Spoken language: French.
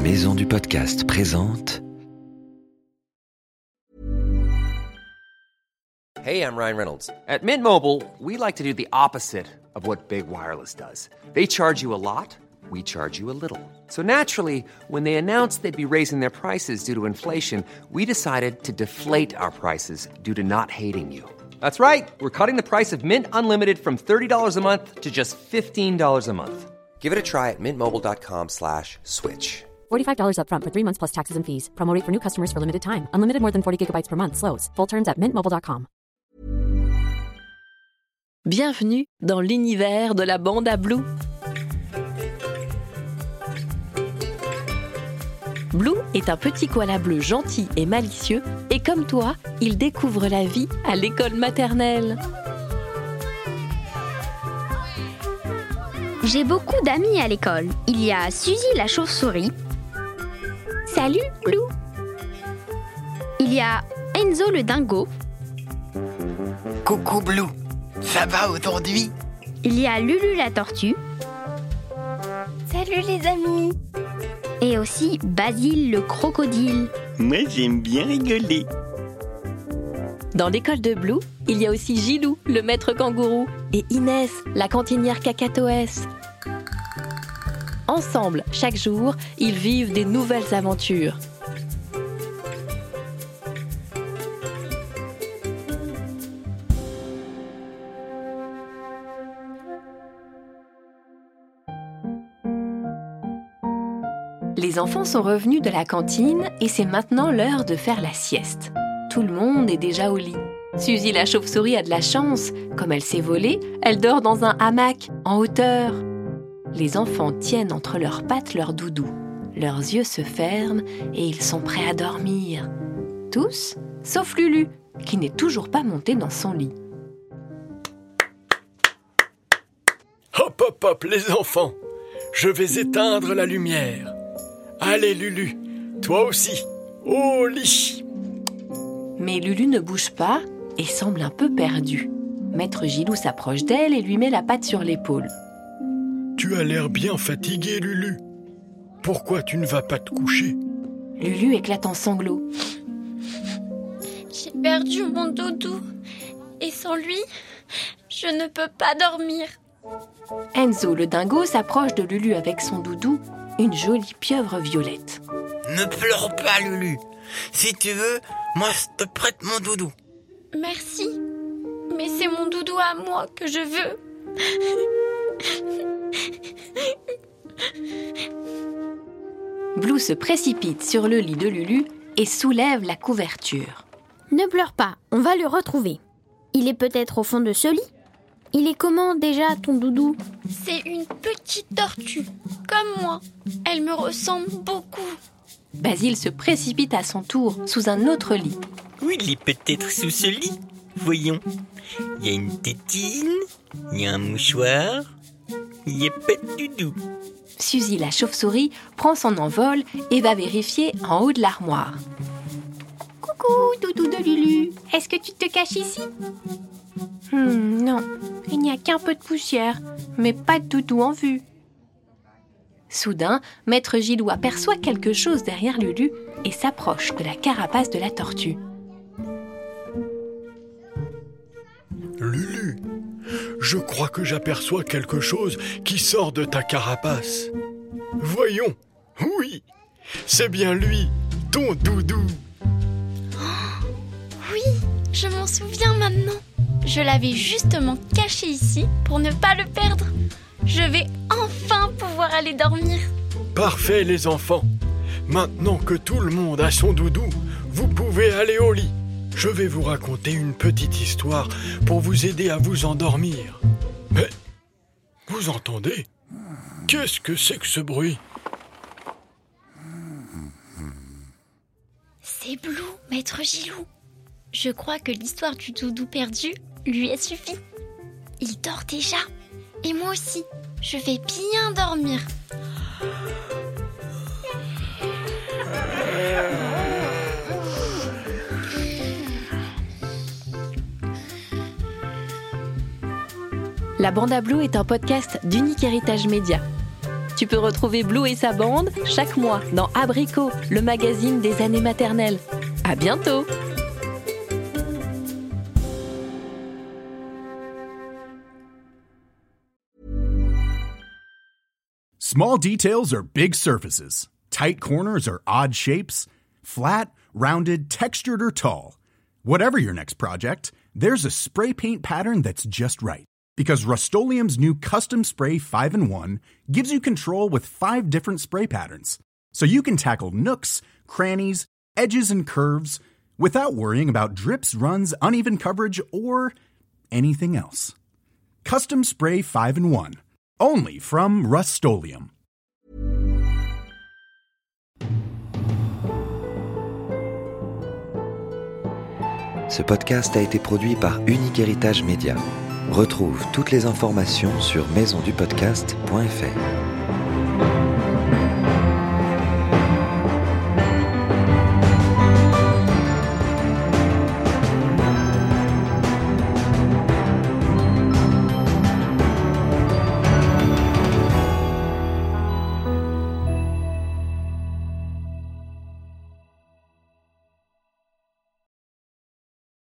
Maison du podcast présente. Hey, I'm Ryan Reynolds. At Mint Mobile, we like to do the opposite of what Big Wireless does. They charge you a lot, we charge you a little. So naturally, when they announced they'd be raising their prices due to inflation, we decided to deflate our prices due to not hating you. That's right. We're cutting the price of Mint Unlimited from $30 a month to just $15 a month. Give it a try at mintmobile.com/switch. $45 up front for 3 months plus taxes and fees. Promo rate for new customers for limited time. Unlimited more than 40 gigabytes per month. Slows full terms at mintmobile.com. Bienvenue dans l'univers de la bande à Blue. Blue est un petit koala bleu gentil et malicieux et comme toi, il découvre la vie à l'école maternelle. J'ai beaucoup d'amis à l'école. Il y a Suzy la chauve-souris. Salut, Blue. Il y a Enzo le dingo. Coucou Blue, ça va aujourd'hui? Il y a Lulu la tortue. Salut les amis. Et aussi Basile le crocodile. Moi j'aime bien rigoler. Dans l'école de Blue, il y a aussi Gilou, le maître kangourou, et Inès, la cantinière cacatoès. Ensemble, chaque jour, ils vivent des nouvelles aventures. Les enfants sont revenus de la cantine et c'est maintenant l'heure de faire la sieste. Tout le monde est déjà au lit. Suzy la chauve-souris a de la chance. Comme elle s'est volée, elle dort dans un hamac, en hauteur. Les enfants tiennent entre leurs pattes leur doudou. Leurs yeux se ferment et ils sont prêts à dormir. Tous, sauf Lulu, qui n'est toujours pas montée dans son lit. Hop, hop, hop, les enfants! Je vais éteindre la lumière. Allez, Lulu, toi aussi, au lit! Mais Lulu ne bouge pas et semble un peu perdue. Maître Gilou s'approche d'elle et lui met la patte sur l'épaule. Tu as l'air bien fatiguée, Lulu. Pourquoi tu ne vas pas te coucher? Lulu éclate en sanglots. J'ai perdu mon doudou. Et sans lui, je ne peux pas dormir. Enzo, le dingo, s'approche de Lulu avec son doudou, une jolie pieuvre violette. Ne pleure pas Lulu. Si tu veux, moi je te prête mon doudou. Merci. Mais c'est mon doudou à moi que je veux. Blue se précipite sur le lit de Lulu et soulève la couverture. Ne pleure pas, on va le retrouver. Il est peut-être au fond de ce lit. Il est comment déjà ton doudou? C'est une petite tortue, comme moi. Elle me ressemble beaucoup. Basile se précipite à son tour sous un autre lit. Oui, il est peut-être sous ce lit. Voyons. Il y a une tétine, il y a un mouchoir, il n'y a pas de doudou. Suzy la chauve-souris prend son envol et va vérifier en haut de l'armoire. Coucou, doudou de Lulu. Est-ce que tu te caches ici? Non, il n'y a qu'un peu de poussière, mais pas de doudou en vue. Soudain, Maître Gilou aperçoit quelque chose derrière Lulu et s'approche de la carapace de la tortue. Lulu, je crois que j'aperçois quelque chose qui sort de ta carapace. Voyons, oui, c'est bien lui, ton doudou. Oui, je m'en souviens maintenant. Je l'avais justement caché ici pour ne pas le perdre. Je vais enfin pouvoir aller dormir. Parfait les enfants. Maintenant que tout le monde a son doudou, vous pouvez aller au lit. Je vais vous raconter une petite histoire pour vous aider à vous endormir. Mais, vous entendez? Qu'est-ce que c'est que ce bruit? C'est Blue, Maître Gilou. Je crois que l'histoire du doudou perdu lui a suffi. Il dort déjà. Et moi aussi, je vais bien dormir. La Bande à Blue est un podcast d'Unique Héritage Média. Tu peux retrouver Blue et sa bande chaque mois dans Abricot, le magazine des années maternelles. À bientôt! Small details are big surfaces. Tight corners are odd shapes. Flat, rounded, textured, or tall. Whatever your next project, there's a spray paint pattern that's just right. Because Rust-Oleum's new Custom Spray 5-in-1 gives you control with 5 different spray patterns. So you can tackle nooks, crannies, edges, and curves without worrying about drips, runs, uneven coverage, or anything else. Custom Spray 5-in-1. Only from Rust-Oleum. Ce podcast a été produit par Unique Héritage Média. Retrouve toutes les informations sur maisondupodcast.fr.